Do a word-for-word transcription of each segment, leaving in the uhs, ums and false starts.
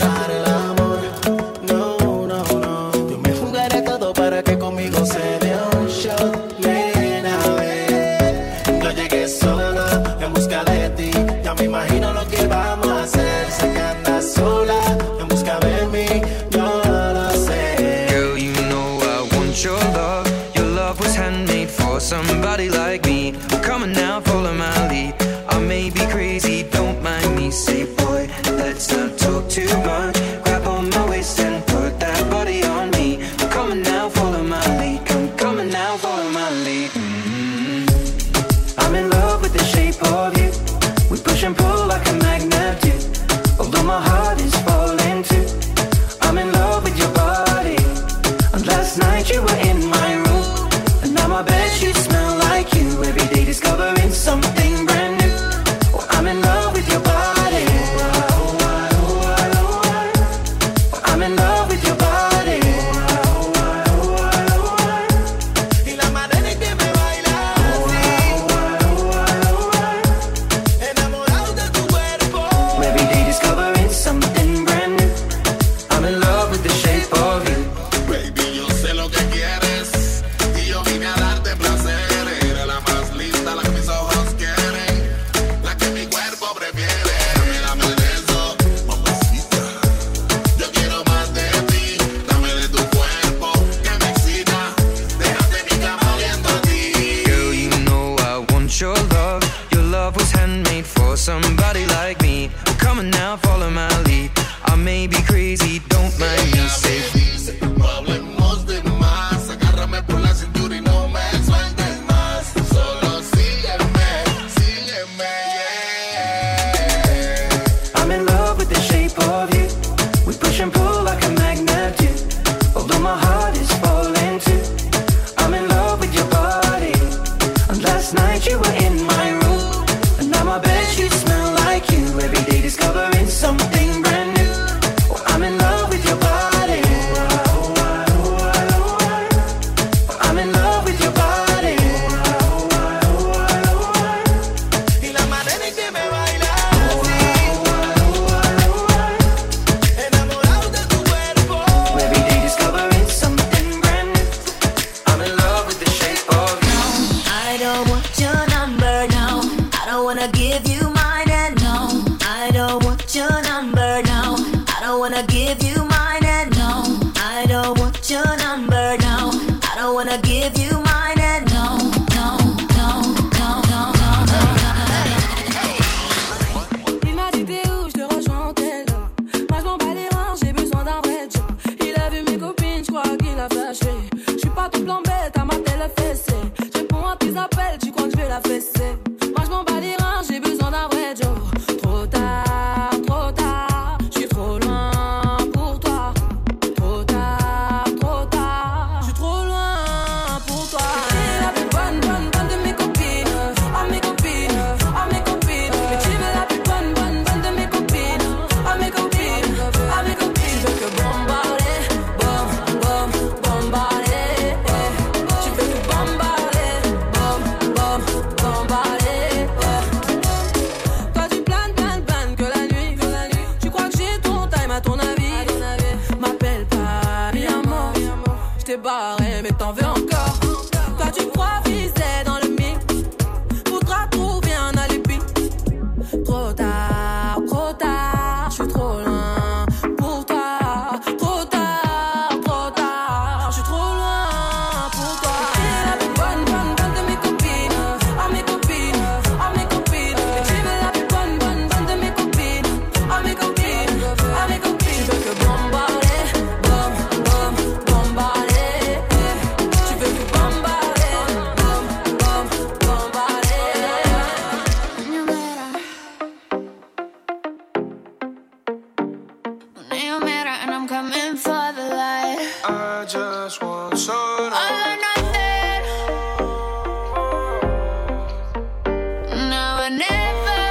encontrar el amor. No, no, no. Yo me jugaré todo para que conmigo se dé un shot. Nena, ven. Yo llegué solo en busca de ti. Ya me imagino lo que vamos a hacer. Sé que andas sola en busca de mí. Yo lo sé. Girl, you know I want your love. Your love was handmade for somebody like me. Come on now, follow my lead. I may be crazy, don't mind me. Say, boy, let's not talk too much. Grab on my waist and put that body on me. Come on now, follow my lead. Come, come on now, follow my lead. Mm-hmm. I'm in love with the shape of you. We push and pull like a magnet do. Although my heart is falling too. I'm in love with your body. And last night you were in my room. And now my bedsheets smell like you. Every day discovering something brand new. Oh, I'm in love with your body. I'm in love with your body. Y la manera en que me bailas así, enamorado de tu cuerpo. Every day discovering something brand new. I'm in love with the shape of you. Baby, yo sé lo que quieres y yo vine a darte placer. Eres la más linda, la que mis ojos quieren, la que mi cuerpo prefiere. Dame, dame de eso, mamacita. Yo quiero más de ti. Dame de tu cuerpo que me excita. Déjate mi cama oliendo a ti. Girl, you know I want your love. Your love was handmade for somebody like me. Come on now, follow my lead. I may be crazy, don't mind me. Say, Dice, no hablemos de más. Agárrame por la cintura y no me sueltes más. Solo sígueme, sígueme, yeah. I'm in love with the shape of you. We push and pull like a magnet do. Although my heart is falling too. I'm in love with your body. And last night you were in my room. And now my bedsheets smell like you. Every day discovering something brand new. Oh, I'm in love with your body. I'm in love with your body. Y la manera en que me bailas así, enamorado de tu cuerpo. Every day discovering something brand new. I'm in love with the shape of you. I don't want your number, no. I don't wanna give you mine, and no. I don't want your number, no. I don't wanna give you mine, and no. I don't want your number, no. I don't wanna give you mine, and no. No, no, no, no, no, no. Il m'a dit t'es où, je te rejoins en tel là. Moi je m'en bats les reins, j'ai besoin d'un vrai job. Il a vu mes copines, je crois qu'il a flashé. Je suis pas tout plan bête, à ma telle fessée. Je réponds à tes appels, tu crois que je vais la fesser. Moi je m'en bats les reins, j'ai besoin d'un vrai job. Trop tard, trop tard, je suis trop loin pour toi. Trop tard, trop tard, je suis trop loin pour toi. T'es la plus bonne, bonne, bonne de mes copines. Ah mes copines, ah mes copines. Mais tu veux la plus bonne, bonne, bonne de mes copines. Ah mes copines, ah mes copines. Je veux que bombarder, bom, bom, bombarder. Tu veux que bombarder, bom, bom, bombarder. Toi tu planes, planes, planes que la nuit, que la nuit. Tu crois que j'ai ton time à ton avis? M'appelle pas, mi amor. Je t'ai barré, mais t'en veux encore. Toi tu crois viser dans le mix. Faudra trouver un alibi. Trop tard, trop tard, je suis trop loin pour toi. Trop tard, trop tard, je suis trop loin pour toi. T'es la plus bonne, bonne, bonne de mes copines. Ah mes copines, ah mes copines. Et tu veux la plus bonne, bonne, bonne de mes copines. Ah mes copines, ah mes copines. Tu veux que bombarder, bom, bom, bombarder. Tu veux que bombarder, bom, bom, bombarder. No matter, and I'm coming for the light. I just want some. All or nothing. Now or never.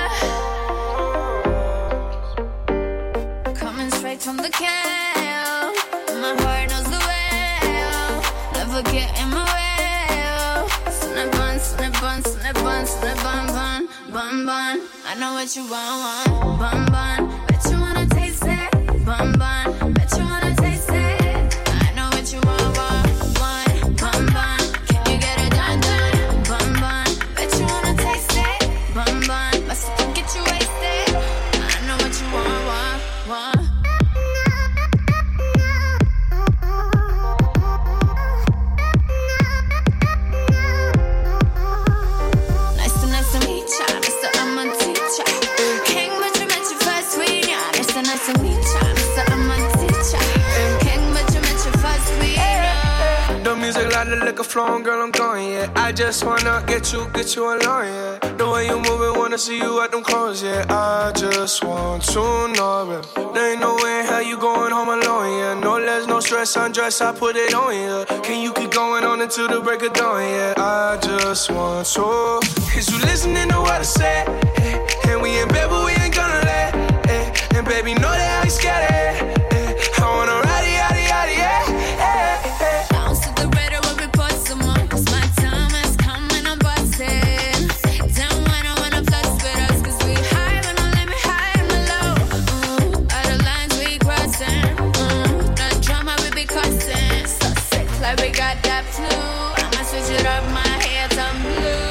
Coming straight from the can. My heart knows the way. Never get in my way. Snap on, snap on, snap on, snap on, bun, bun, bun. I know what you want, want, bun, bun. Bet you wanna taste it. music, lot of liquor flowing, girl, I'm going, yeah. I just wanna get you, get you alone, yeah. The way you moving, wanna see you at them clothes, yeah. I just want to know, yeah. There ain't no way in hell you going home alone, yeah. No less, no stress, undress, I put it on, yeah. Can you keep going on until the break of dawn, yeah. I just want to. Is you listening to what I say? Eh? And we in bed, but we ain't gonna let. Eh? And baby, know that I ain't scared of it. Eh? I wanna ride it, yada, yada, yeah. Eh, eh. Bounce to the rhythm when we put some on, 'cause my time is coming, I'm busting. Down when I wanna flex with us, 'cause we high when I let me high and low. Mm, all the lines we crossing. Mm, the drama we be cussing. So sick, like we got that flu. I'ma switch it up, my head's on blue.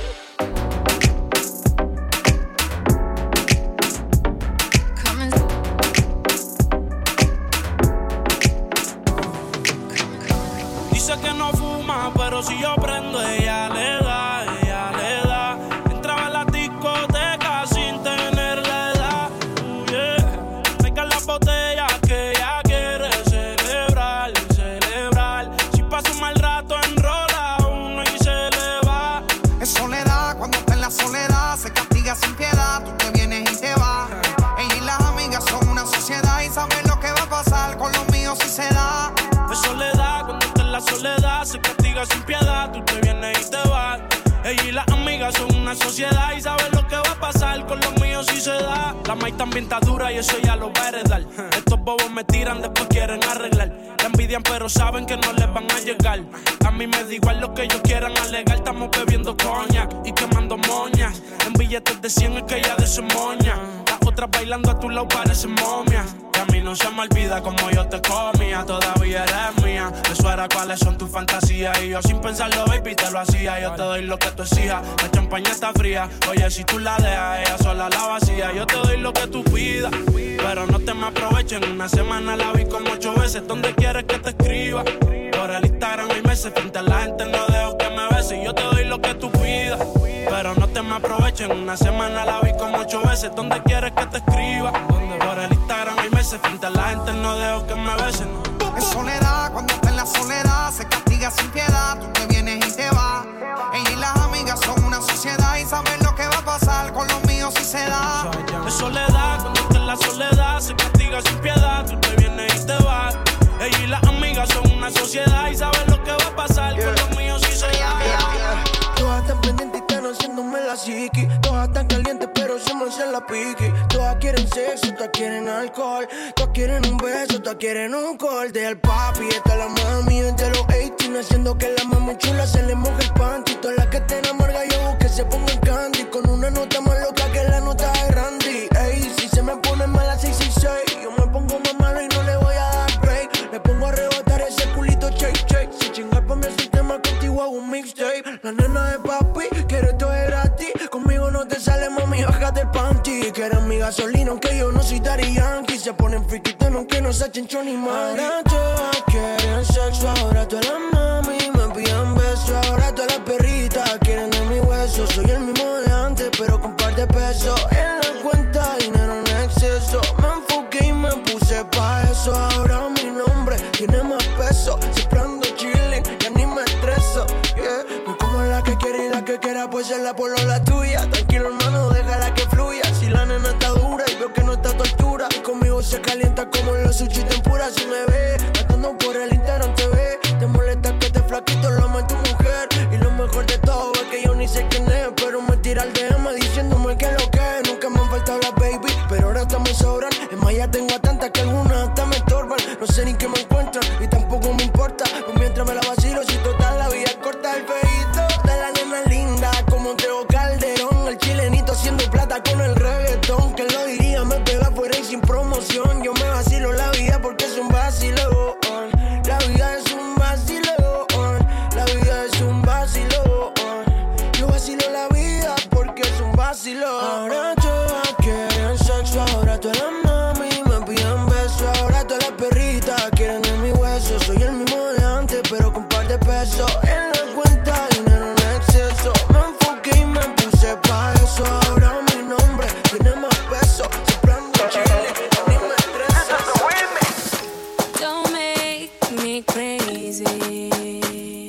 Pero si yo prendo, ella le da, ella le da. Entraba en la discoteca sin tener la edad. Uh, yeah. Traigan las botellas que ella quiere celebrar, celebrar. Si pasa un mal rato, enrola uno y se le va. Es soledad, cuando está en la soledad, se castiga sin piedad. Tú te vienes y te vas. Ella y las amigas son una sociedad y saben lo que va a pasar con los míos si se da. Es soledad, cuando está en la soledad, se castiga sin piedad, tú te vienes y te vas. Ella y las amigas son una sociedad y saben lo que va a pasar con los míos si se da. La maíz también está dura y eso ya lo va a heredar. Estos bobos me tiran, después quieren arreglar. La envidian pero saben que no les van a llegar. A mí me da igual lo que ellos quieran alegar. Estamos bebiendo coña y quemando moñas. En billetes de cien es que ella de eso es moña. Las otras bailando a tu lado parecen momias. Y a mí no se me olvida como yo te comía. Todavía eres mía. Eso era cuáles son tus fantasías. Y yo sin pensarlo, baby, te lo hacía. Yo te doy lo que tú exijas. La champaña está fría. Oye, si tú la dejas, ella sola la vacía. Yo te doy lo que tú pidas, pero no te me aprovechen. Una semana la vi como ocho veces. ¿Dónde quieres que te escriba? Por el Instagram hay meses. Frente a la gente no dejo que me beses. Yo te doy lo que tú pidas, pero no te me aprovechen. Una semana la vi como ocho veces. ¿Dónde quieres que te escriba? Por el Instagram hay meses. Frente a la gente no dejo que me besen. Es soledad, cuando está en la soledad, se castiga sin piedad. Tú te vienes y te vas. Ella y las amigas son una sociedad y saben lo que va a pasar con los míos si se da. Es soledad, cuando está en la soledad, se castiga sin piedad. Tú te vienes y te vas. Ella y las amigas son una sociedad y saben lo que va a pasar yeah. con los míos si se da. Yeah, yeah. Todas están pendientes y están haciéndome la psiqui. Todas están calientes pero se me hacen la piqui. Todas quieren sexo, todas quieren alcohol. Todas quieren un beso, todas quieren un corte. El papi, está la mami desde los ochenta, haciendo que la mami chula se le moje el panty. Todas las que estén amargas yo busco que se pongan candy. Con una nota más loca que la nota de Randy. Ey, si se me pone mala seis seis seis, yo me pongo más malo y no le voy a dar break. Le pongo a rebotar ese culito shake shake. Si chingar pa' mi sistema contigo hago un mixtape. La nena de papi, quiero esto es gratis. Conmigo no te sale, mami, bájate el panty. Que eres mi gasolina, aunque yo no soy Daddy Yankee. Se ponen friquitos, aunque no se echen chon ni mari. Ahora todas quieren sexo, ahora todas las mami me piden besos. Ahora todas las perritas quieren de mi hueso. Soy el mismo de antes, pero con par de pesos. En la cuenta, dinero en exceso. Me enfoqué y me puse pa' eso. Ahora mi nombre tiene más peso. Siempre ando chilling, ya ni me estreso. Yeah. No como la que quiere y la que quiera, pues es la polo la tuya. Tranquilo, hermano, déjala que fluya. Si la nena está dura y veo que no está tortura, y conmigo se calienta como los sushi tempura. Si me ve, matando por el Instagram T V. Te molesta que te flaquito lo ame tu mujer. Y lo mejor de todo es que yo ni sé quién es, pero me tira el D M diciéndome que lo que es. Nunca me han faltado las baby, pero ahora hasta me sobran. Es más, ya tengo a tantas que algunas hasta me estorban. No sé ni qué me encuentran y tampoco me importa. Pues mientras me la vacilo, si total la vida es corta. El feíto de la nena linda como Teo Calderón. El chilenito haciendo plata con el reggaetón. Que lo diría, me pega fuera y sin promoción. Yo me vacilo la vida porque es un vacilón. La vida es un vacilón. La vida es un vacilón. Yo vacilo la vida porque es un vacilón. Ahora todas quieren sexo, ahora todas las mami me piden besos. Ahora todas las perritas quieren de mi hueso. Soy el mismo de antes, pero con par de pesos. En la cuenta, dinero en exceso. Me enfoqué y me puse pa' eso. Ahora mi nombre tiene más peso. Siempre ando chile, ni me estreso. Don't make me crazy.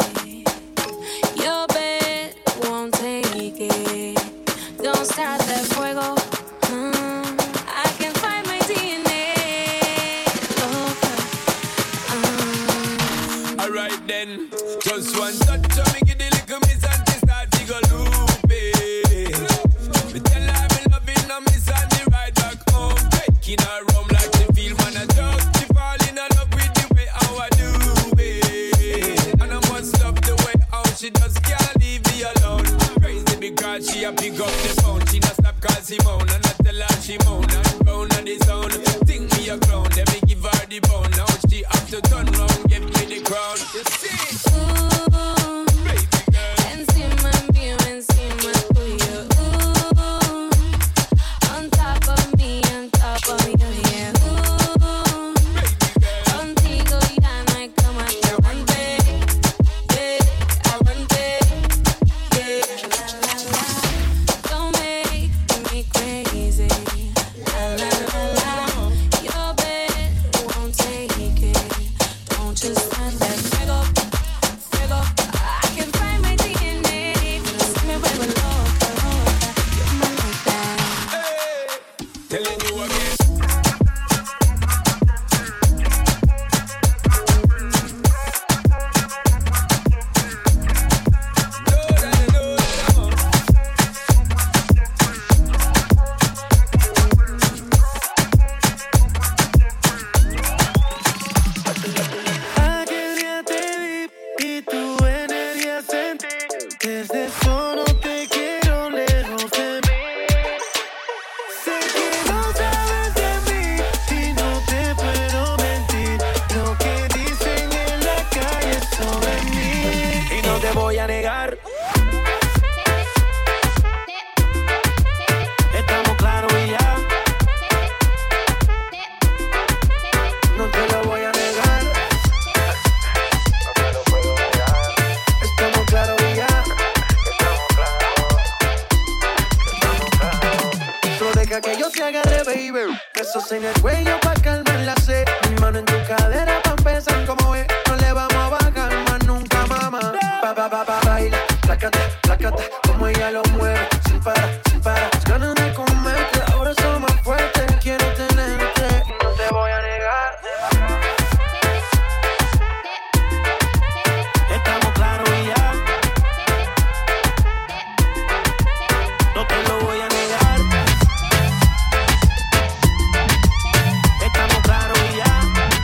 then. Just one touch of me, give the little miss and she start to go loopy. Me tell her me loving her miss and the ride back home. Taking her home like she feel man a drug. She fall in love with the way how I do it. And I must love the way how she just can't leave me alone. Crazy because she a pick up the phone. She not stop call Simone and I tell her she moan and round on the zone. Think me a clown, then me give her the bone. Now she have to turn round, give me the crown. You see? Ooh, baby girl. Encima mío, encima tuyo. Ooh, on top of me, on top of you, yeah. Ooh, contigo ya no hay como te aguante, yeah, aguante, yeah. La la la, don't make me crazy. La la la la, your bed won't take it. Don't just stand there, fuego, fuego. I can find my D N A. Se me vuelve loca, loca. You're my like that. Hey, telling you again. Aquel día te vi y tu energía sentí. Desde solo te quiero lejos de mí. Sé que no sabes de mí y no te puedo mentir. Lo que dicen en la calle sobre mí. Y no te voy a negar. Estamos claros y ya. No te lo voy a negar. Estamos claros y ya. Solo deja que yo te agarre, baby. Besos en el cuello pa' calmar la sed. Mi mano en tu cadera pa' empezar como es. No le vamos a bajar más nunca, mamá. Pa, pa, pa, pa, baila. Plácata, plácata. Como ella lo mueve. Sin parar, sin parar. Las ganas de comerte. Ahora son más fuertes. Quiero tenerte. No te voy a negar. Estamos claros y ya. No te lo voy a negar. Estamos claros y ya.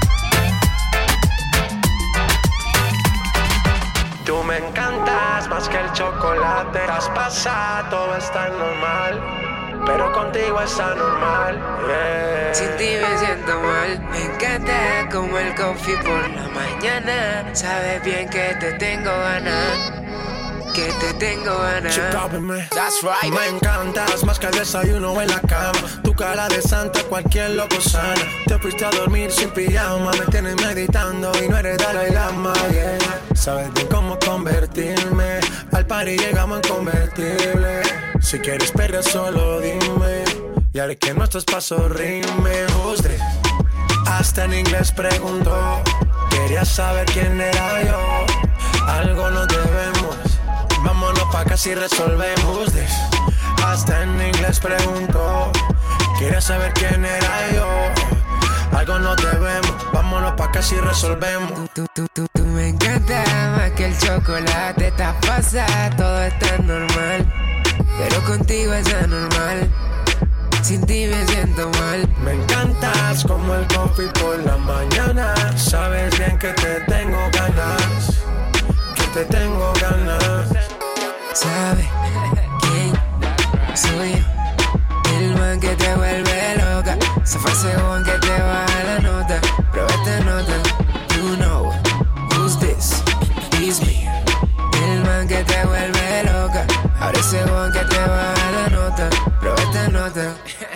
Tú me encantas más que el chocolate. Estás pasada, todo está normal. Pero contigo está normal. Yeah. Sin ti me siento mal. Me encanta como el coffee por la mañana. Sabes bien que te tengo ganas. Que te tengo ganas. That's right. Me encantas más que el desayuno en la cama. Tu cara de santa, cualquier loco sana. Te fuiste a dormir sin pijama. Me tienes meditando y no eres Dalai Lama, yeah. Sabes bien cómo convertirme. Al party llegamos en convertible. Si quieres perder solo dime. Y haré que nuestros pasos rimen. Usted hasta en inglés preguntó. Quería saber quién era yo. Algo nos debemos. Vámonos pa' acá si resolvemos this. Hasta en inglés preguntó. Quería saber quién era yo. Algo nos debemos. Vámonos pa' acá si resolvemos. Tú, tú, tú, tú me encanta más que el chocolate. Estás pasada, todo está normal. Pero contigo es anormal. Sin ti me siento mal. Me encantas como el coffee por la mañana. Sabes bien que te tengo ganas. Que te tengo ganas. ¿Sabes quién soy yo? El man que te vuelve loca. Se fue ese one que te baja la nota. Pero esta nota, you know who's this? It's me. El man que te vuelve loca. Ahora ese one que te baja la nota. Pero esta nota.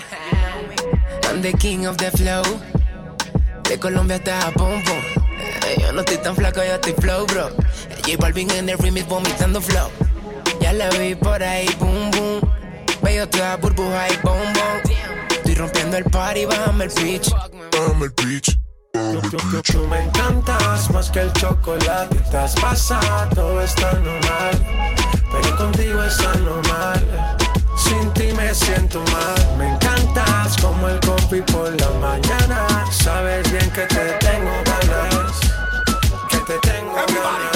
I'm the king of the flow. De Colombia hasta Japón, pum. Yo no estoy tan flaco, yo estoy flow, bro. J Balvin en el remix vomitando flow. Ya la vi por ahí, boom, boom. Veo toda burbuja y boom, boom. Estoy rompiendo el party, bájame el pitch. Bájame el pitch. Tú, tú, tú, tú me encantas más que el chocolate. Estás pasada, todo está normal. Pero contigo está normal. Sin ti me siento mal. Me encantas como el coffee por la mañana. Sabes bien que te tengo ganas. Que te tengo ganas.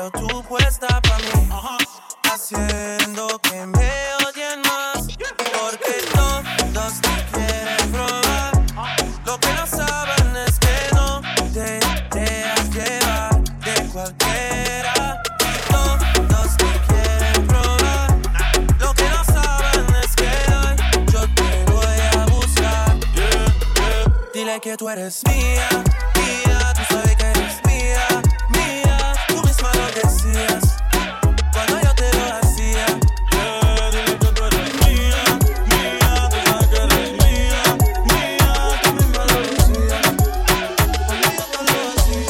veo tú puesta pa' mí, haciendo que me odien más, porque todos te quieren probar. Lo que no saben es que no te dejas llevar de cualquiera. Todos te quieren probar. Lo que no saben es que hoy yo te voy a buscar. Dile que tú eres mía, mía, tú sabes que eres mía, mía. Tú misma lo decías cuando yo te lo hacía. Yeah, dile que tú eres mía, mía, tú sabes que eres mía, mía. Tú misma lo decías cuando yo te lo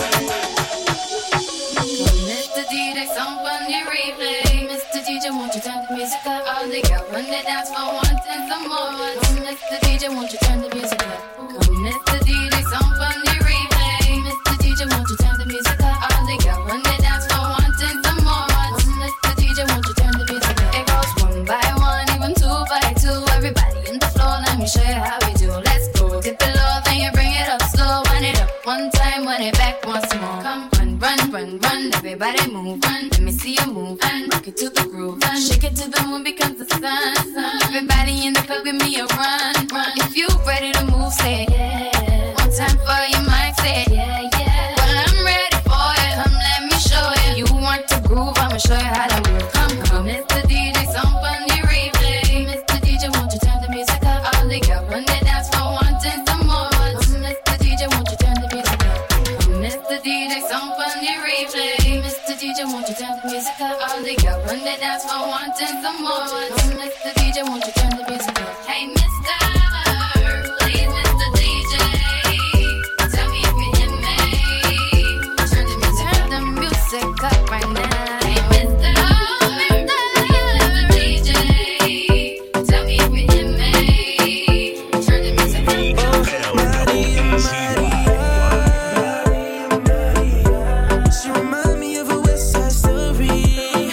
hacía. mister D J, somebody replay. mister D J, won't you turn the music up? All the girls run the dance for one and some more. Come, mister D J, won't you turn the music up? Come, mister D J, somebody replay. mister D J, won't you turn the music up? All the girls run the dance for one and some more. Come, mister D J, won't you turn the music up? It goes one by one, even two by two. Everybody in the floor, let me show you how we do. Let's go. Dip it low, then you bring it up slow. Wind it up one time, wind it back once more. Come, run, run, run, run. Everybody move, run. Let me see you move, and rock it to the groove, and shake it to the moon because the sun, sun. Everybody in the club, give me a run, run. If you ready to move, say yeah. One time for your mind, say yeah, yeah. Well, I'm ready for it. Come, let me show you. You want to groove? I'ma show you how to move. Come, come, mister D J, somebody replay. mister D J, won't you turn the music up? All the girls run the dance for one and some more. Come, mister D J, won't you turn the music up? Come, mister D J, somebody replay. mister D J, won't you turn the music up? All the girls run the dance for one and some more. Come, mister D J, won't you turn the music up? Hey, mister, please, mister D J, tell me if you hear me. Turn the music, turn the music up right now. Hey, mister, mister D J, tell me if you hear me. Turn the music up. She remind me of a West Side Story.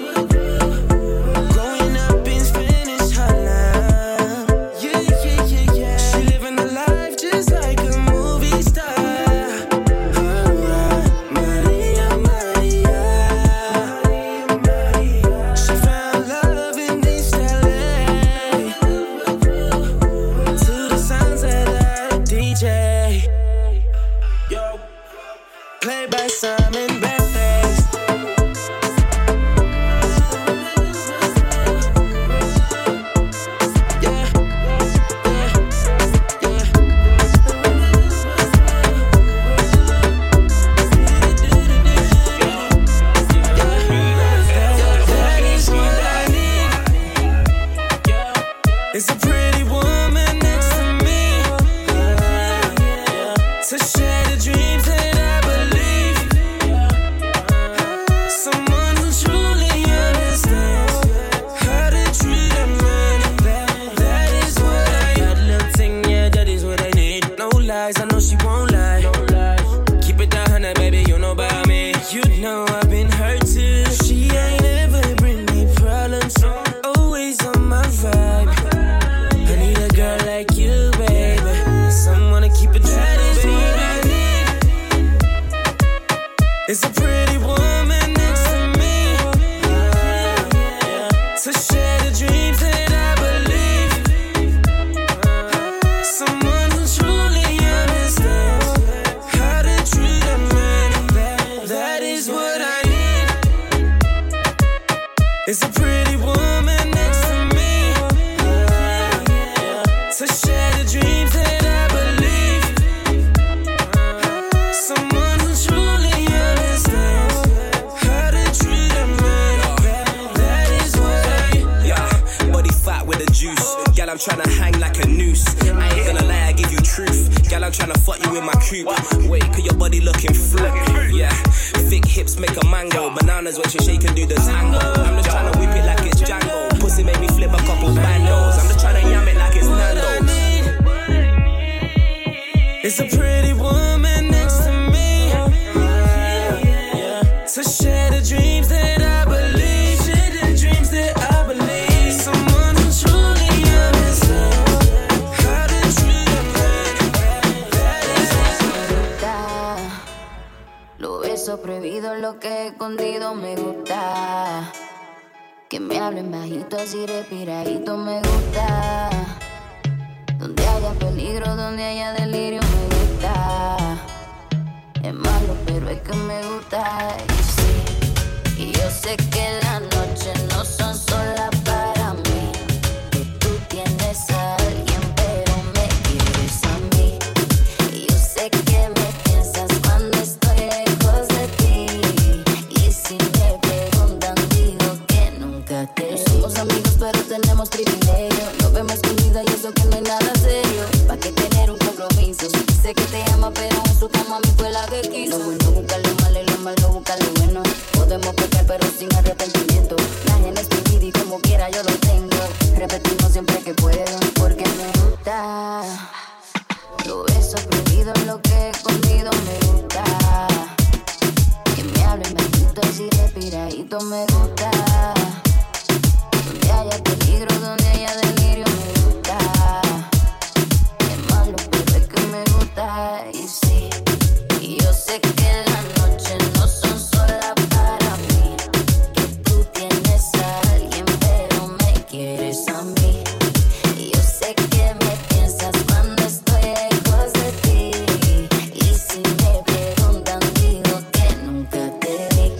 Growing up in Spanish Harlem. Yeah, yeah, yeah, yeah. She living a life just like a movie star. Alright, Maria, Maria. She found love in East L A. To the sounds of that D J. Yo. Played by Simon Backface. Yeah, yeah, yeah. That is what I need. It's a pretty woman next to me, to share the dreams that I believe. Someone who truly understands how to treat a man. That, that is what I need. That little thing, yeah, that is what I need. No lies, I know she won't lie. Keep it down, honey, baby, you know about me. You know I've been hurt too. She ain't ever bring me problems. Always on my vibe. I need a girl like you, baby. Someone to keep it true. That is what I need. It's a pretty woman next to me, to share the dreams that I believe. Someone who truly understands how to treat a man. That, that is what I need. It's a pretty woman next to me, to share the dreams that I believe. Someone who truly understands how to treat a man. That, that is what I. Yeah, body fat with the juice. Gal, I'm tryna hang like a noose. I ain't gonna lie, I give you truth. Gal, I'm tryna fuck you in my coupe. Wait, cause your body looking flip. Yeah, thick hips make a mango. Bananas when she shake and do the tango. I'm just tryna whip it like it's Django. Pussy make me flip a couple bandos. I'm just tryna yam it like it's Nando's. It's a pretty woman next to me, to share the dreams that I believe. Share the dreams that I believe. Someone who truly understands how to treat a man. That is Lo beso prohibido, lo que he escondido delirio me gusta. Que me hablen bajito, así respiradito me gusta. Donde haya peligro, donde haya delirio me gusta. Es malo, pero es que me gusta. Y sí, y yo sé que las noches no son solas para mí. Que tú tienes a alguien, pero me quieres a mí. Y yo sé que me piensas cuando estoy lejos de ti. Y si me preguntan, digo que nunca te vi. No somos amigos, pero tenemos privilegio. Nos vemos escondida y eso que no es nada serio. ¿Pa' qué tener un compromiso? Sé que te ama, pero en su cama a mí fue la que quiso. Lo bueno busca lo malo y lo malo busca lo bueno. Podemos pecar, pero sin arrepentimiento. La gente es mi vida y como quiera yo lo tengo. Repetimos siempre que puedo, porque me gusta. Los besos prohibidos, lo que he escondido me gusta. Que me hablen bajito, así respiradito me gusta. Donde haya peligro, donde haya delirio me gusta. Es malo, pero es que me gusta. Y sí, y yo sé que las noches no son solas para mí. Que tú tienes a alguien, pero me quieres a mí. Y yo sé que me piensas cuando estoy lejos de ti. Y si me preguntan, digo que nunca te vi.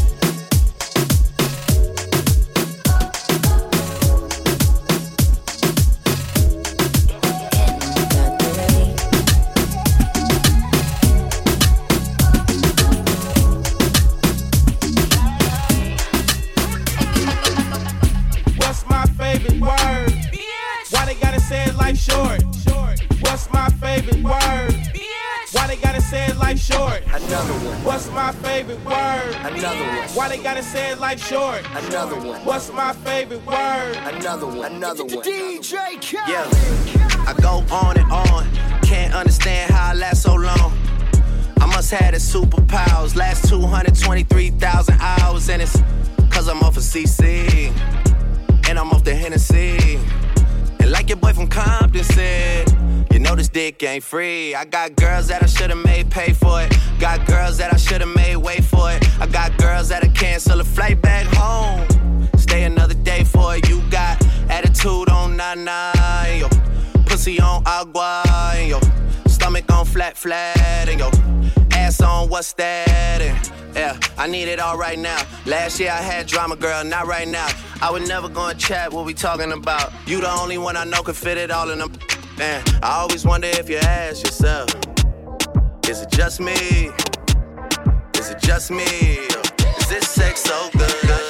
What's my favorite word? Why they gotta say it like short? What's my favorite word? Why they gotta say it like short? Another one. What's my favorite word? Another one. Why they gotta say it like short? Another one. What's my favorite word? Another one. Another one. D J Khaled. Yeah, I go on and on. Can't understand how I last so long. I must have the superpowers. Last two hundred twenty-three thousand hours, and it's cause I'm off of C C. And I'm off the Hennessy. And like your boy from Compton said, you know this dick ain't free. I got girls that I should've made pay for it. Got girls that I should've made wait for it. I got girls that'll cancel a flight back home. Stay another day for it. You got attitude on nine, yo. Pussy on agua, and yo. Stomach on flat, flat, and yo. Ass on what's that, and yeah, I need it all right now. Last year I had drama, girl, not right now. I would never go and chat what we talking about. You the only one I know could fit it all in them. Man, I always wonder if you ask yourself, is it just me? Is it just me? Is this sex so good?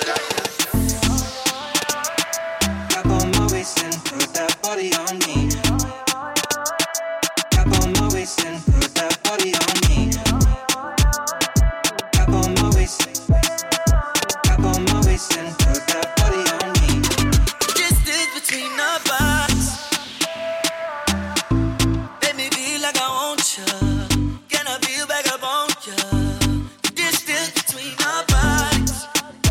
Tap on my waist and put that body on me. Tap on my waist and put that body on me. Tap on my waist. Tap on my waist and put that body on me. Distance between our bodies. Let me feel like I want you. Can I feel back up on you? Distance between our bodies.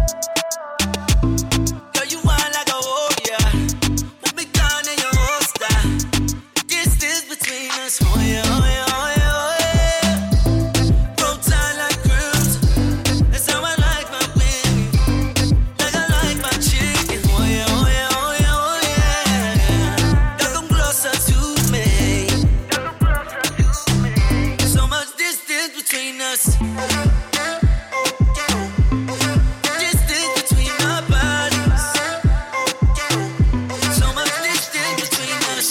Girl, you want like a warrior. Put me down in your holster. Distance between us. Oh yeah, oh yeah, oh yeah, oh yeah. Roll tight like cruise. That's how I like my baby. Like I like my chicken. Oh yeah, oh yeah, oh yeah, oh yeah. Girl, come closer to me. So much distance between us. Distance between our bodies. So much distance between us.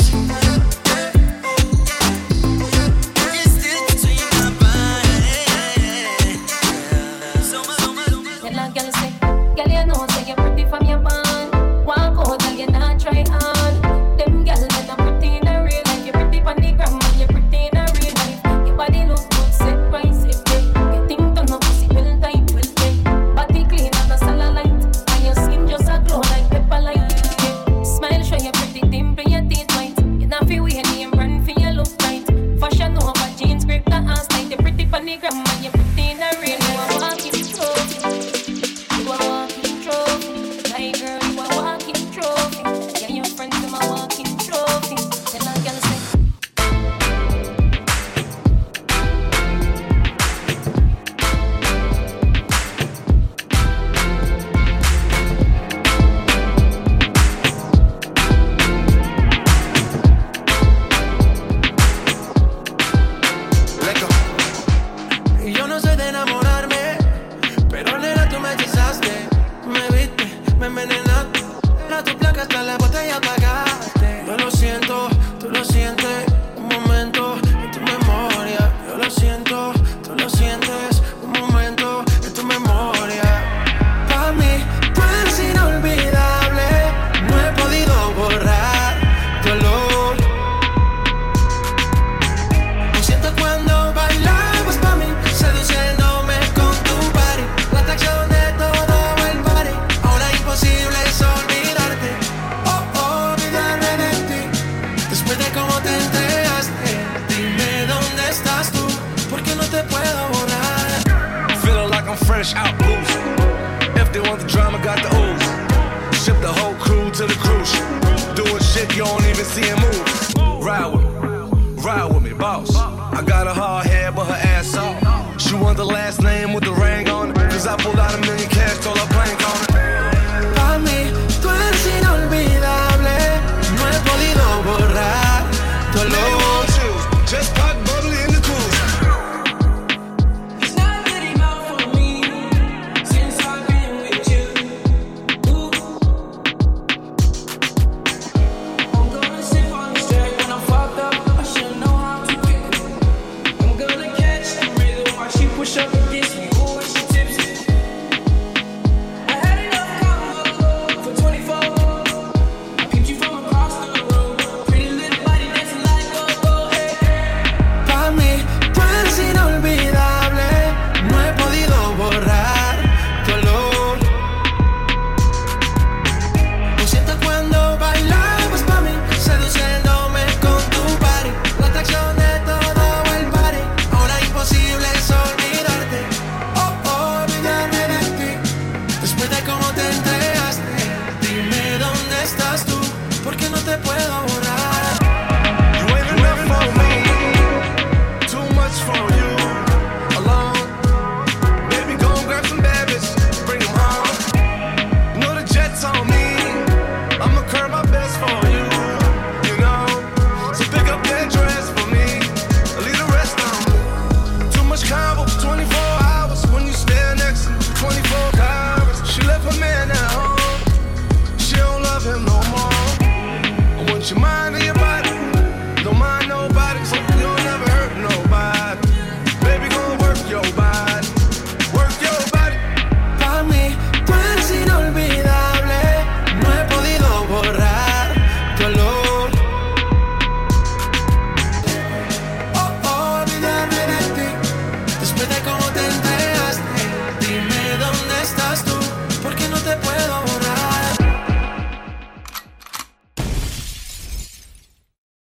Distance between our bodies. So much, so much. Tell a girl say, girl you know say you pretty from your band. Walk out, girl you not try hard. Them girl that are pretty in a real life. You pretty pon the gram and you pretty in a real life. Your body look good, set right, set right. Getting done up, pussy well tight, well tight. Body clean and a cellulite, and your skin just a glow like pepper light. Yeah. Smile show you pretty dimple, your teeth white. You not feel weird, name brand for your look tight. Fashion over jeans, grip the ass tight. You pretty pon the gram and you pretty in a real life. You a walking trophy. You a walking trophy. fresh out booze. If they want the drama, got the ooze. Ship the whole crew to the cruise ship. Doing shit you don't even see him move. Ride with me, ride with me, boss. I got a hard head, but her ass off. She want the last name with the ring on it. Cause I pulled out a million cash, told her blank on it. Pa' mí, tú eres inolvidable. No he podido borrar tu olor. Just pop bubbly in the cruise. It's not good enough for me since I've been with you. Ooh. I'm gonna sip on this track when I'm fucked up. I should know how to pick up. I'm gonna catch the rhythm while she push up against me. Ooh, and she tipsy. I had enough combo for twenty-four. I peeped you from across the room. Pretty little body dancing like go-go. Hey, hey. Pa' mí, tú eres inolvidable. No he podido borrar tu olor. Lo siento cuando bailabas pa' mí, seduciéndome con tu body. La atracción de todo el party. Ahora imposible es olvidarte. Oh, oh, olvidarme de ti. Después de cómo te entregaste, dime dónde estás tú.